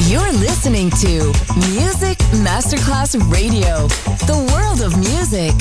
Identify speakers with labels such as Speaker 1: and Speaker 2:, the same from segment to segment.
Speaker 1: You're listening to Music Masterclass Radio, the world of music.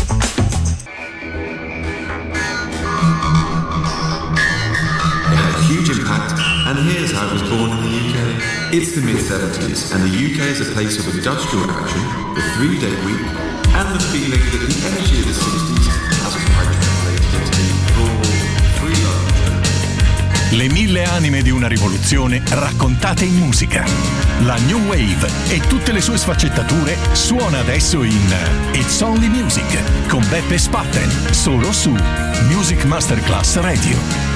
Speaker 2: It had a huge impact, and here's how it was born in the UK. It's the mid-70s, and the UK is a place of industrial action, the 3-day week, and the feeling that the energy of the 60s hasn't quite translated into raw, free love.
Speaker 3: Le 1000 anime di una rivoluzione raccontate in musica. La New Wave e tutte le sue sfaccettature suona adesso in It's Only Music con Beppe Spatten, solo su Music Masterclass Radio.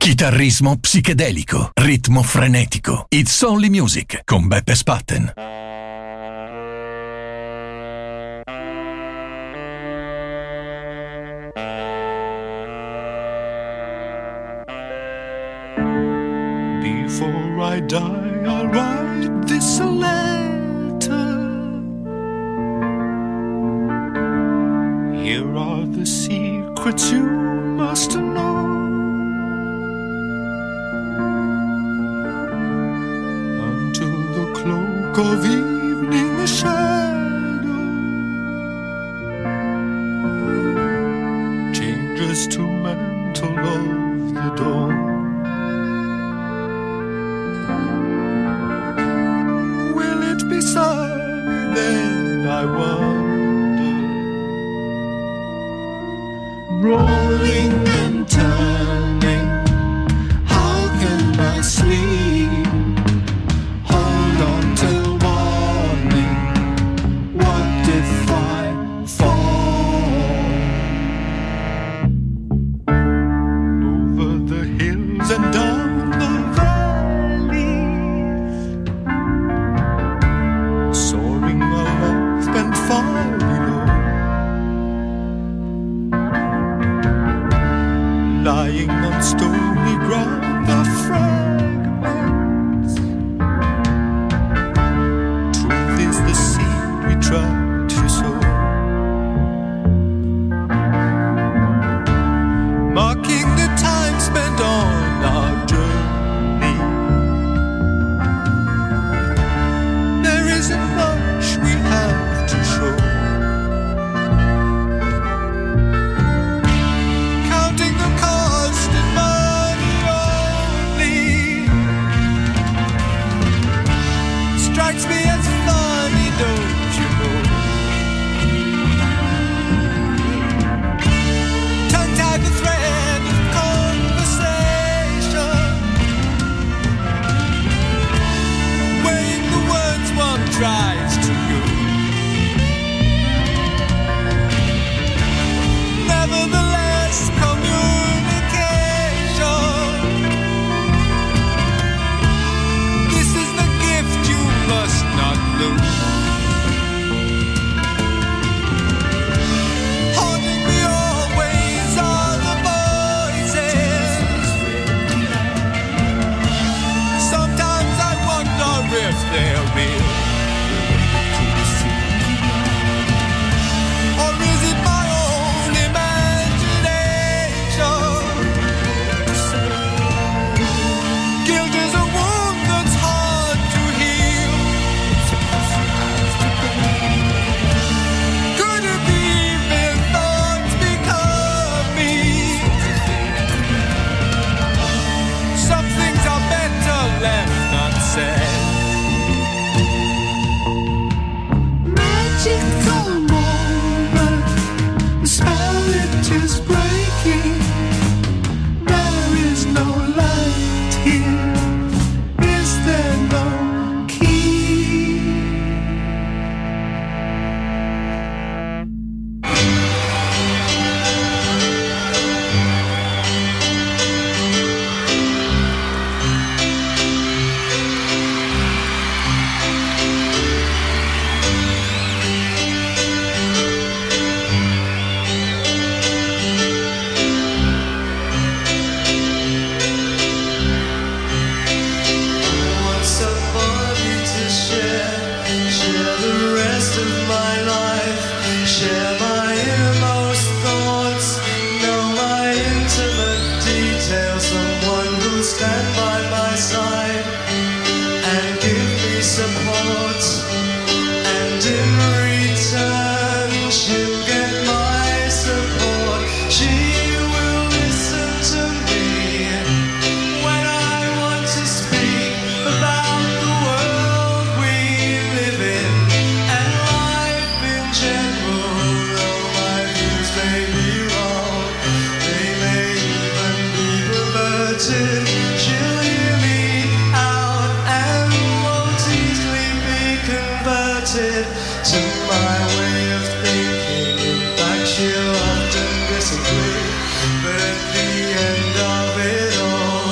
Speaker 3: Chitarrismo psichedelico, ritmo frenetico. It's Only Music con Beppe Spatten.
Speaker 4: Before I die, I'll write this letter. Here are the secrets you must know. Until the cloak of evening shadow changes to mantle of the dawn. Then I wonder, rolling and turning, how can I sleep? Hold on till morning, what if I fall? Over the hills and down the far below, lying on stony ground, the fragments. Truth is the seed we try to sow, marking the time spent on our journey. There isn't much we have to show. Counting the cost in money only strikes me as funny, don't you know? Tongue-tied the thread of conversation, weighing the words one tries to use. Nevertheless, communication, this is the gift you must not lose. Haunting me always are the voices. Sometimes I wonder if they're real. Or is it my own imagination? Guilt is a wound that's hard to heal. Could it be evil thoughts become me? Some things are better left unsaid. Magical moment, the spell it is breaking. There is no light here. Is there no key? Want somebody to share the rest of my life, share my innermost thoughts, know my intimate details, someone who'll stand by my side and give me support, and in return she'll get my support. She will listen to me when I want to speak about the world we live in and life in general. Though my views may be wrong, they may even be perverted, she'll hear me out and won't easily be converted to my way of thinking. In fact, she'll often disagree, but at the end of it all,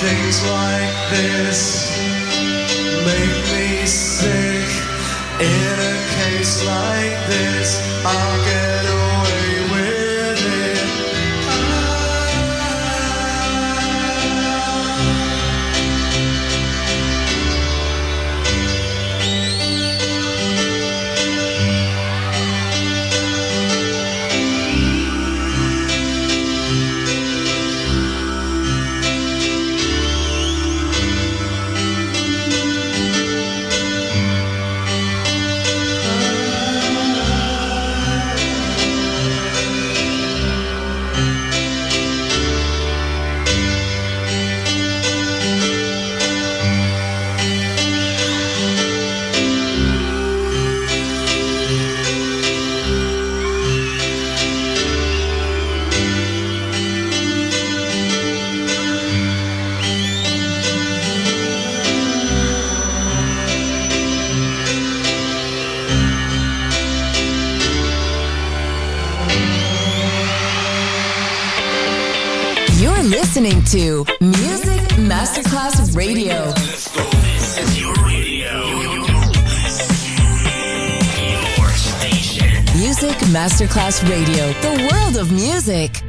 Speaker 4: things like this make me sick. In a case like this, I'll get away with it.
Speaker 1: Listening to Music Masterclass Radio.
Speaker 3: This is your radio. Your station.
Speaker 1: Music Masterclass Radio. The world of music.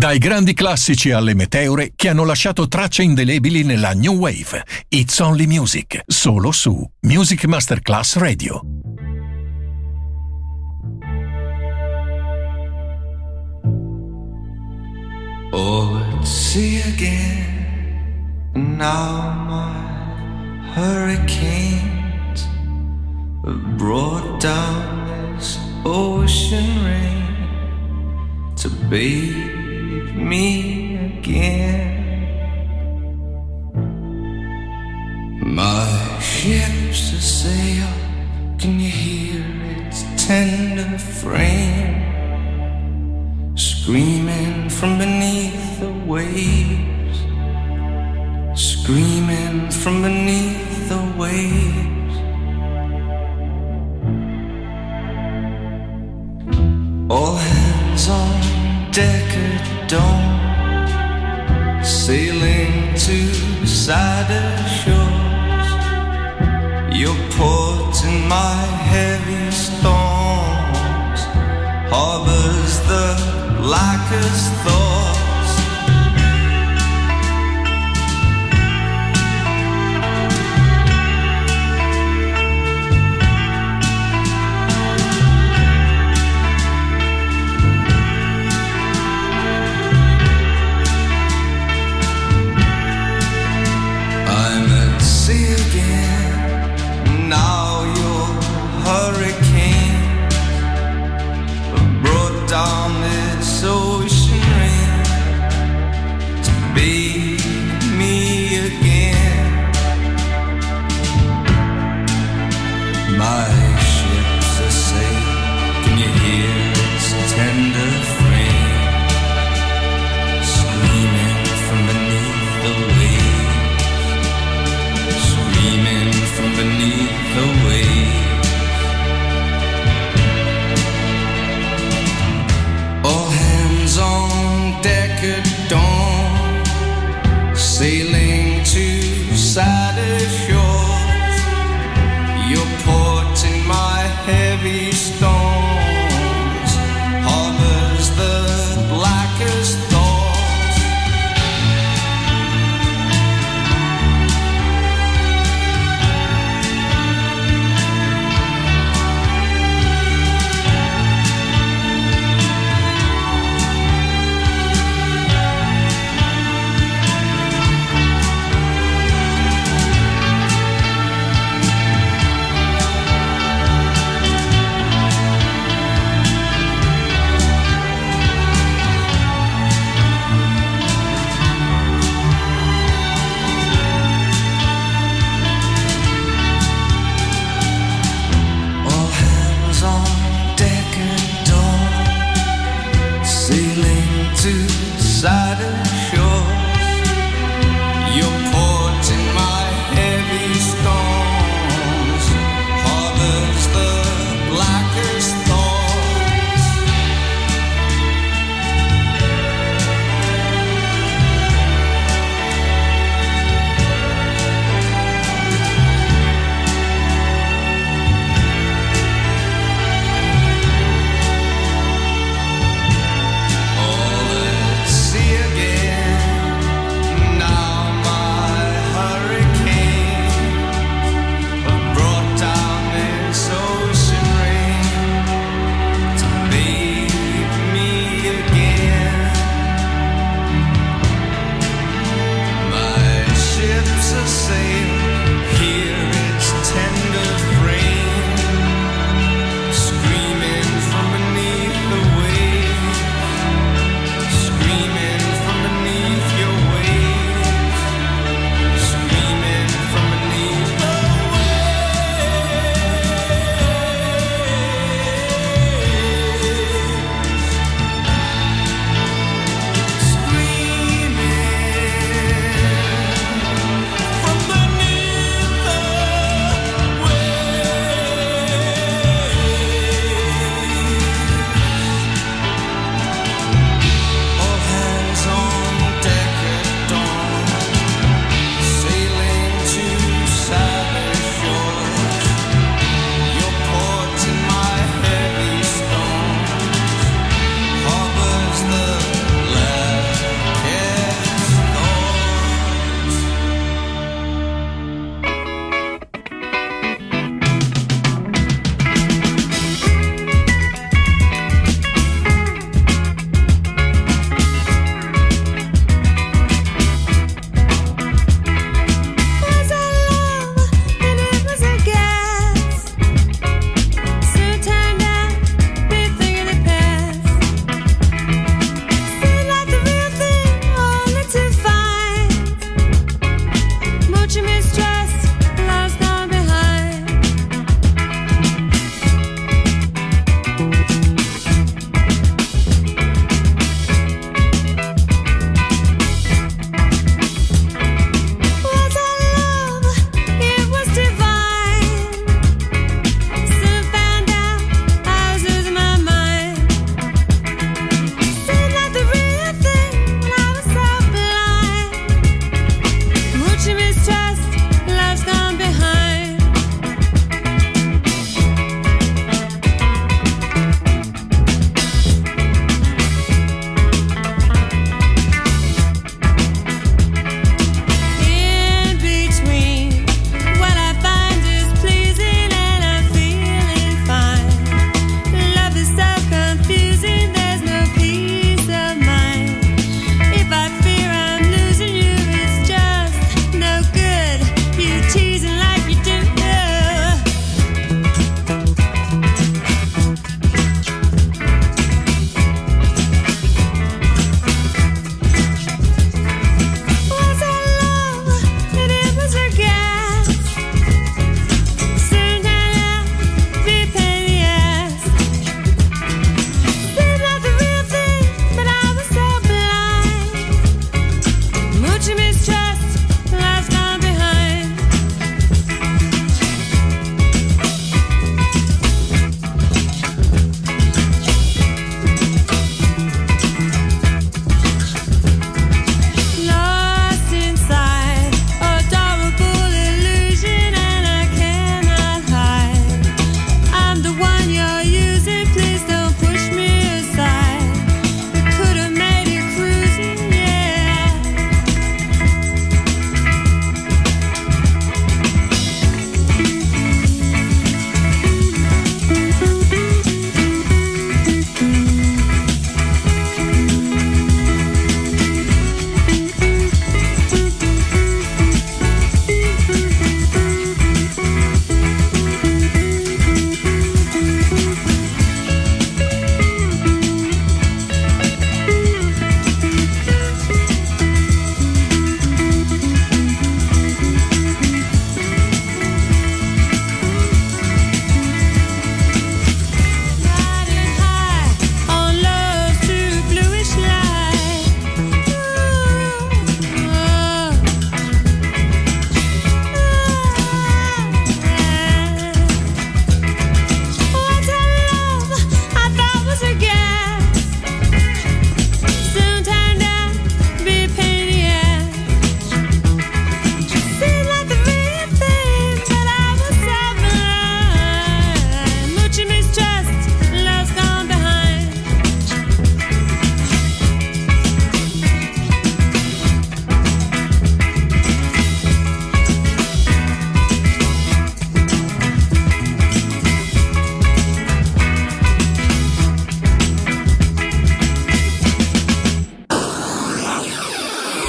Speaker 3: Dai grandi classici alle meteore che hanno lasciato tracce indelebili nella New Wave. It's Only Music, solo su Music Masterclass Radio.
Speaker 4: Oh, let's see again. Now my hurricanes have brought down this ocean rain to bathe me again. My ship's a sail, can you hear its tender frame screaming from beneath the waves, screaming from beneath the waves. All hands on deck at dawn, sailing to sadder shores. Your port in my heavy storms harbors the blackest thoughts. I'm at sea again. Now your hurricanes have brought down this ocean rain to bathe me again. My ship's a sail, can you hear its tender frame screaming from beneath the waves, screaming from beneath the waves. All hands on deck at dawn,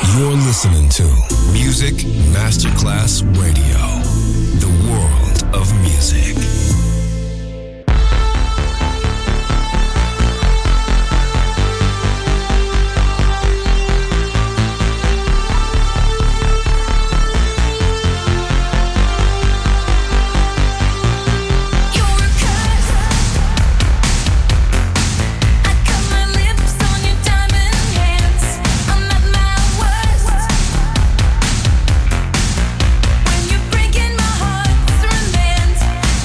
Speaker 5: You're listening to Music Masterclass Radio, the world of music.
Speaker 6: Breaking my heart.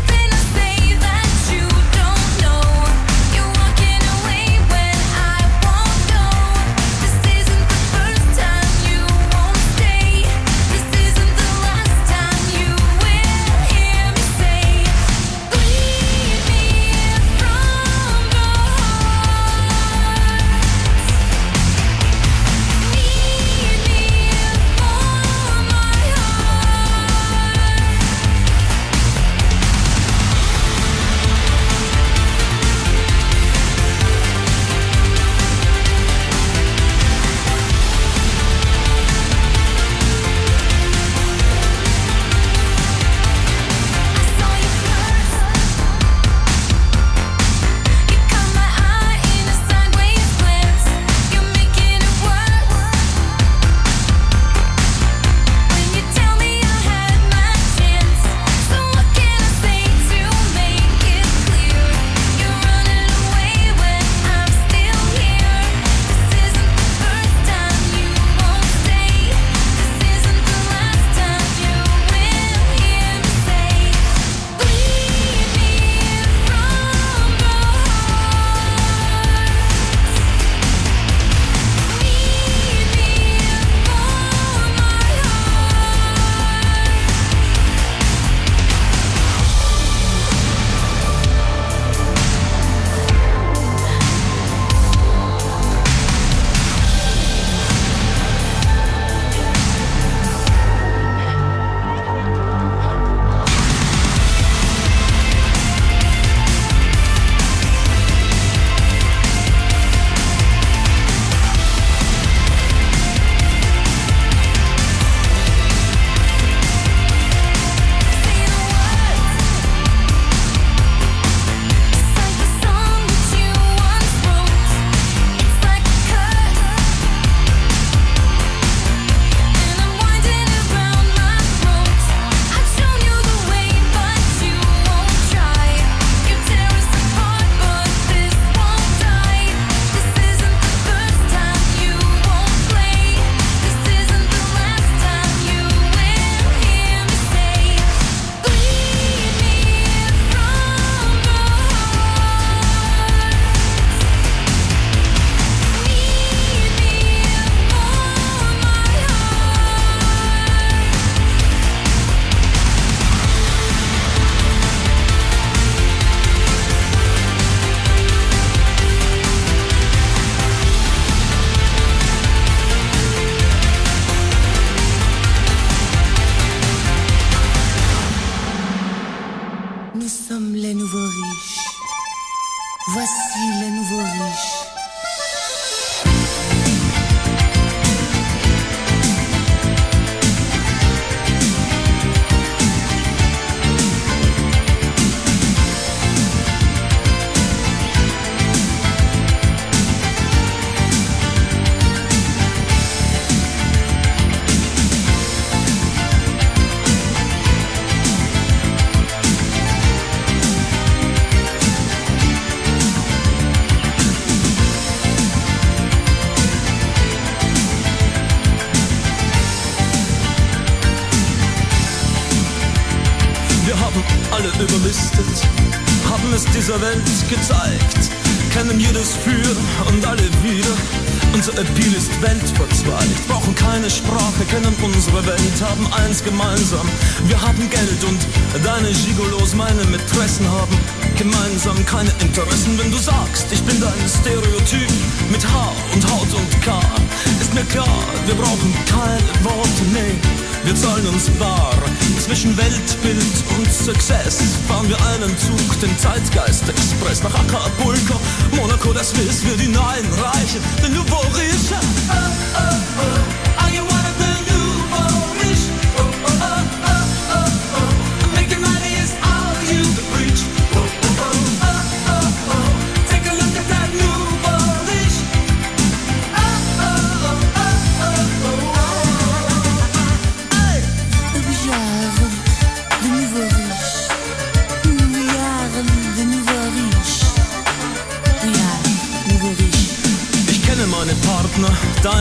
Speaker 7: alle überlistet, haben es dieser Welt gezeigt, kennen jedes Für und alle wieder. Unser Appeal ist weltverzweigt, brauchen keine Sprache, kennen unsere Welt, haben eins gemeinsam. Wir haben Geld und deine Gigolos, meine Mätressen haben gemeinsam keine Interessen. Wenn du sagst, ich bin dein Stereotyp mit Haar und Haut und K, ist mir klar, wir brauchen keine Worte, nee, wir zahlen uns bar. Zwischen Weltbild und Success fahren wir einen Zug, den Zeitgeist-Express, nach Acapulco, Monaco, das Swiss, wir die Neuen Reichen, den Nouveau Riche. Oh, oh, oh.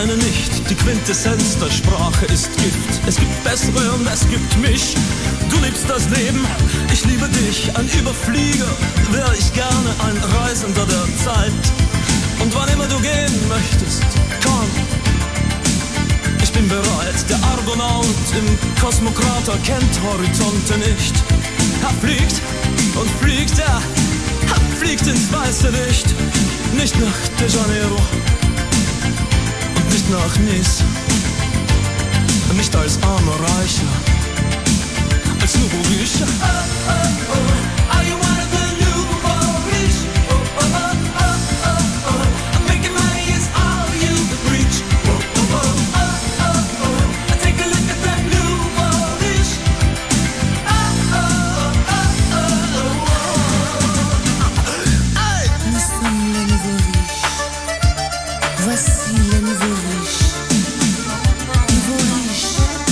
Speaker 7: meine nicht. Die Quintessenz der Sprache ist Gift. Es gibt bessere und es gibt mich. Du liebst das Leben, ich liebe dich. Ein Überflieger wäre ich gerne, ein Reisender der Zeit. Und wann immer du gehen möchtest, komm. Ich bin bereit, der Argonaut im Kosmokrater kennt Horizonte nicht. Er fliegt und fliegt, er fliegt ins weiße Licht. Nicht nach De Janeiro und nicht nach Nice. Nicht als armer Reicher, als Nouveau Riche. Oh, oh, oh, are you one of the Nouveau Riche? Oh, oh, oh, oh, oh, oh. Making money is all you reach. Oh, oh, oh, oh, oh, oh. Take a look at that Nouveau Riche. Oh, oh, oh, oh, oh, oh. Hey.
Speaker 8: Nous sommes les nouveaux riches. Voici les nouveaux riches. Nouveaux riches.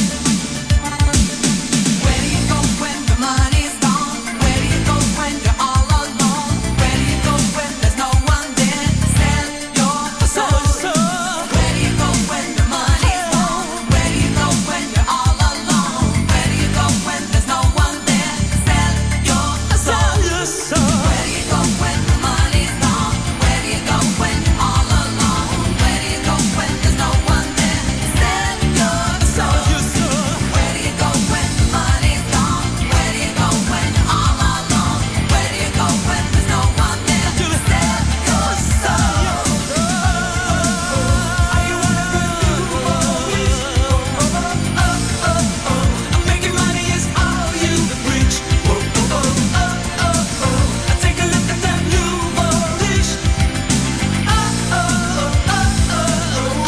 Speaker 6: Where do you go when the money's gone? Where do you go when you're all alone? Where do you go when there's no one there to sell your soul? Where do you go when the money's gone? Where do you go when you're all alone? Where do you go when there's no one there to sell your soul? Where do you go when the money's gone? Where do you go when you're all alone? Where do you go when there's no one there to sell your soul? Where do you go when the money's gone? Where do you go when you're all alone? Where do you go when there's no one there to sell your soul? Are you one of the Nouveau Riche? Oh, oh, oh, oh, oh. Making money is all you reach. Oh, oh, oh, oh, oh, oh. Take a look at that Nouveau Riche. Oh, oh, oh, oh, oh,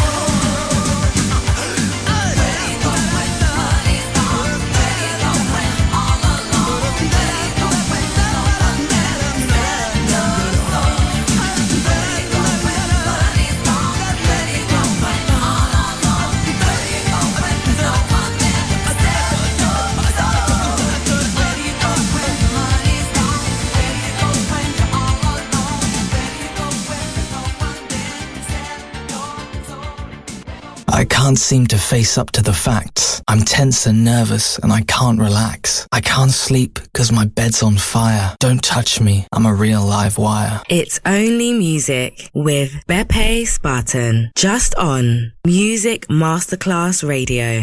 Speaker 6: oh. Where do you go when the money's gone? Where do you go when you're all alone? Where do you go when there's no one there to sell your soul? Where do you go when the money's gone? Where do you go when you're all alone? Where do you go when there's no one there to sell your soul? Where do you go when the money's gone? Where do you go when you're all alone? Where do you go when there's no one there to sell your soul?
Speaker 9: I can't seem to face up to the facts. I'm tense and nervous and I can't relax. I can't sleep because my bed's on fire. Don't touch me, I'm a real live wire.
Speaker 10: It's Only Music with Beppe Spartan. Just on Music Masterclass Radio.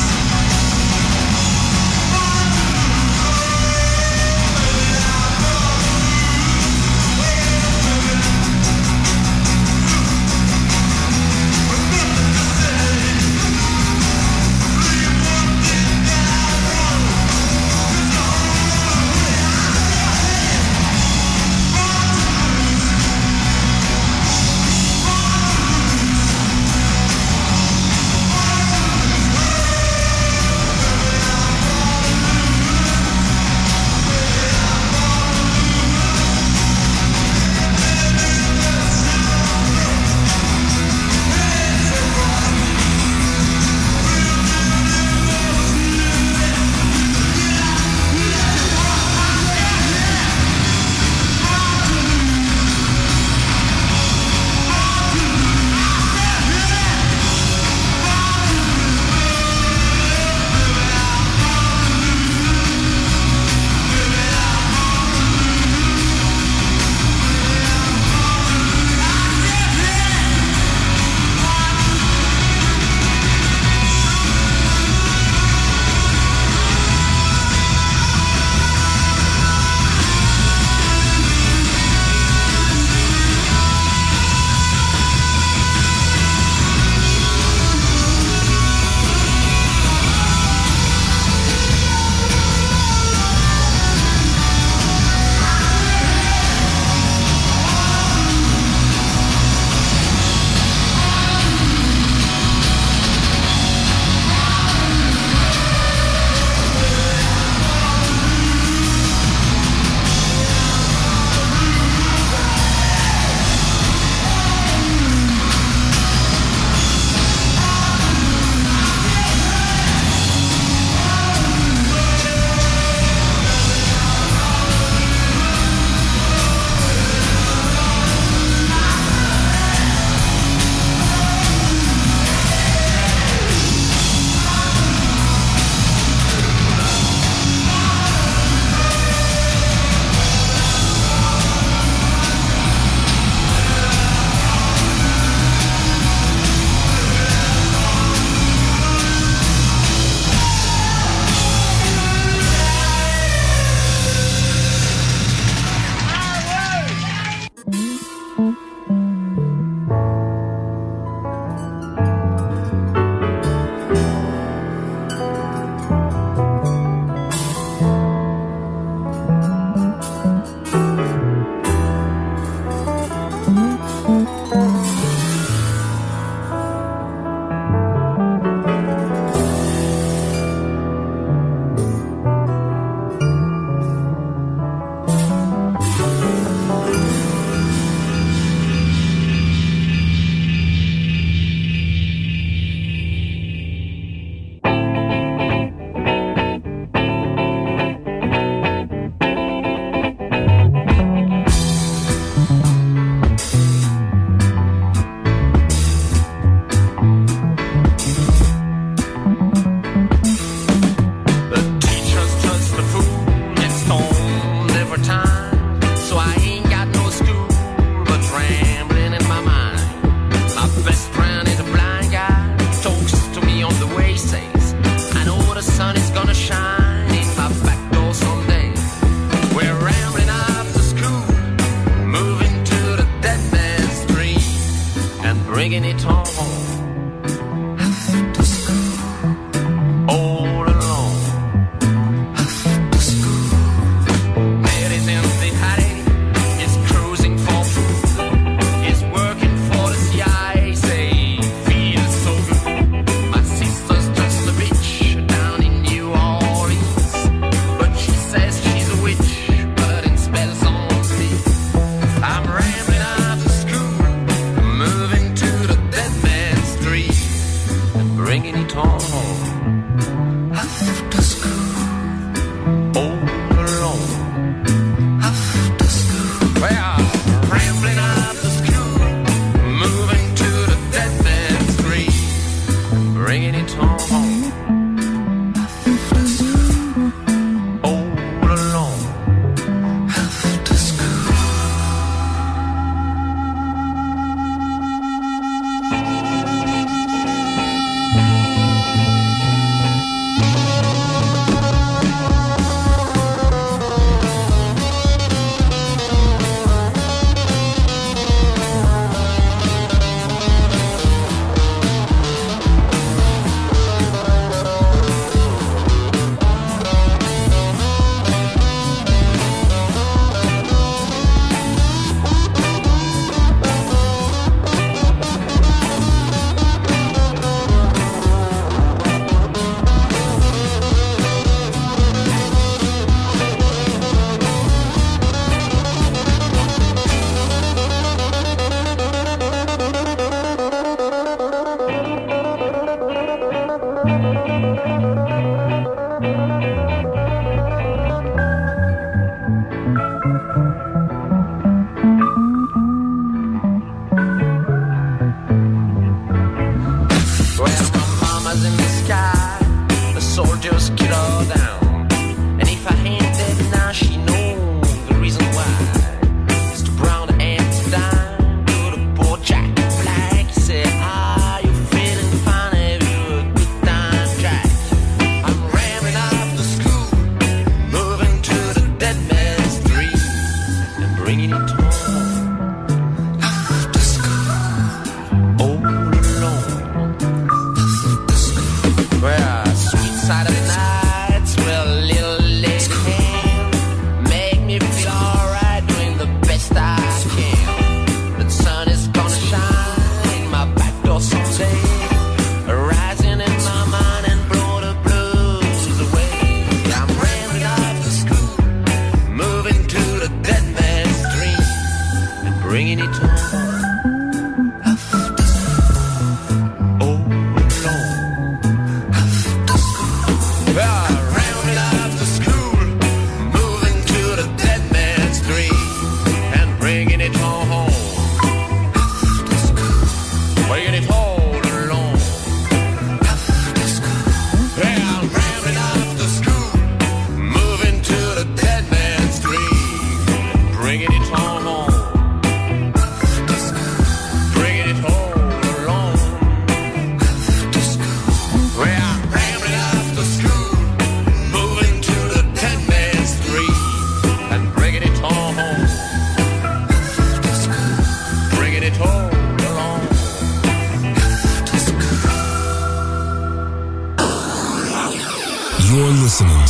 Speaker 4: Oh,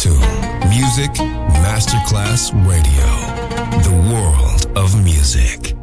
Speaker 5: to Music Masterclass Radio, the world of music.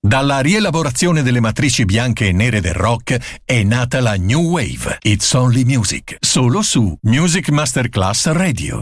Speaker 3: Dalla rielaborazione delle matrici bianche e nere del rock è nata la New Wave. It's Only Music, solo su Music Masterclass Radio.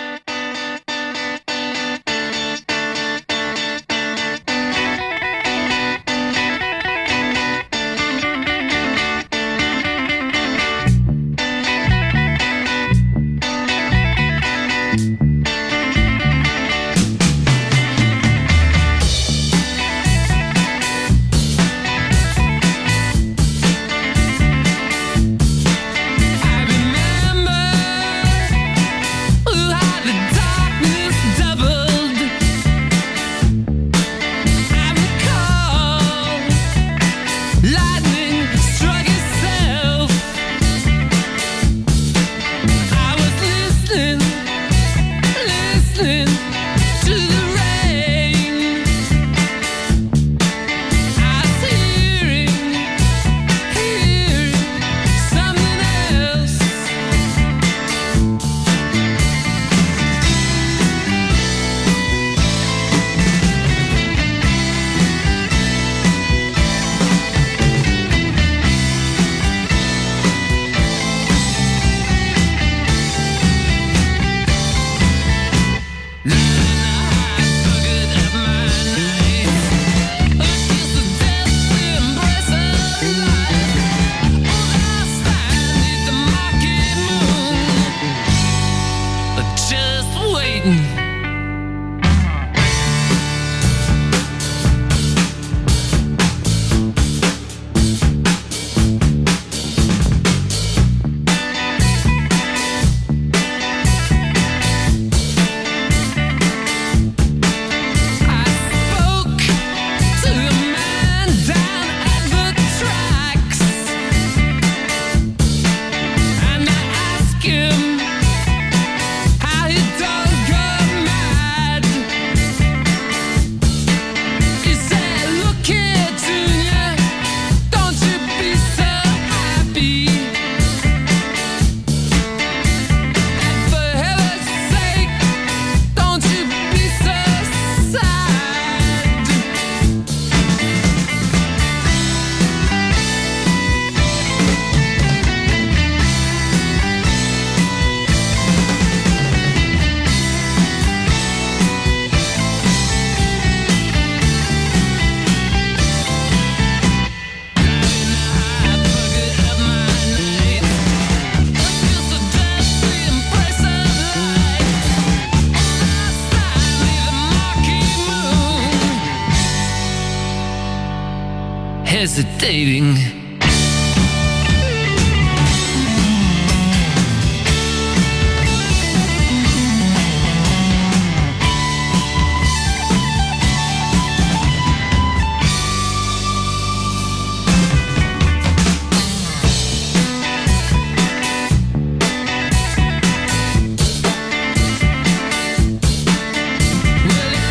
Speaker 11: Hesitating.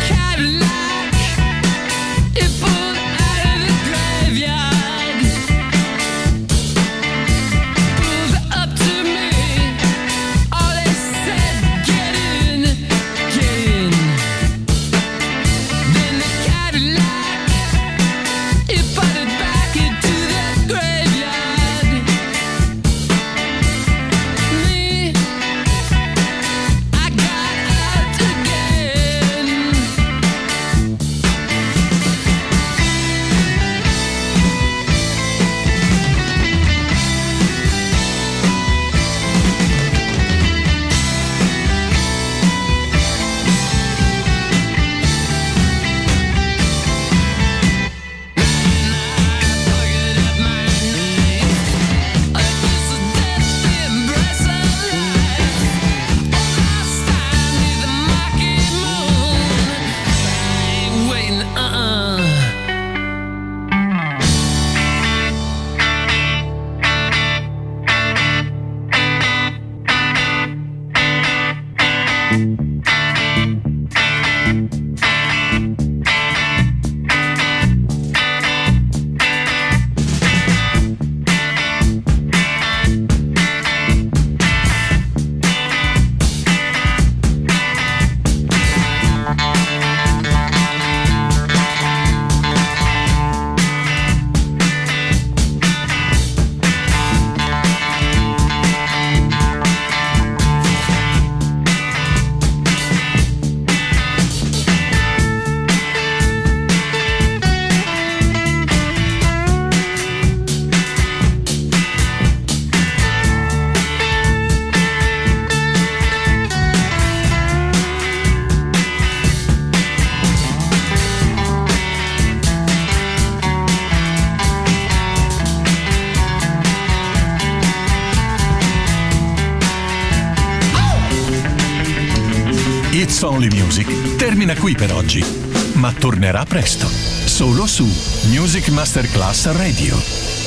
Speaker 4: Cadillac, it pulled out of the graveyard.
Speaker 3: It's Only Music termina qui per oggi, ma tornerà presto, solo su Music Masterclass Radio.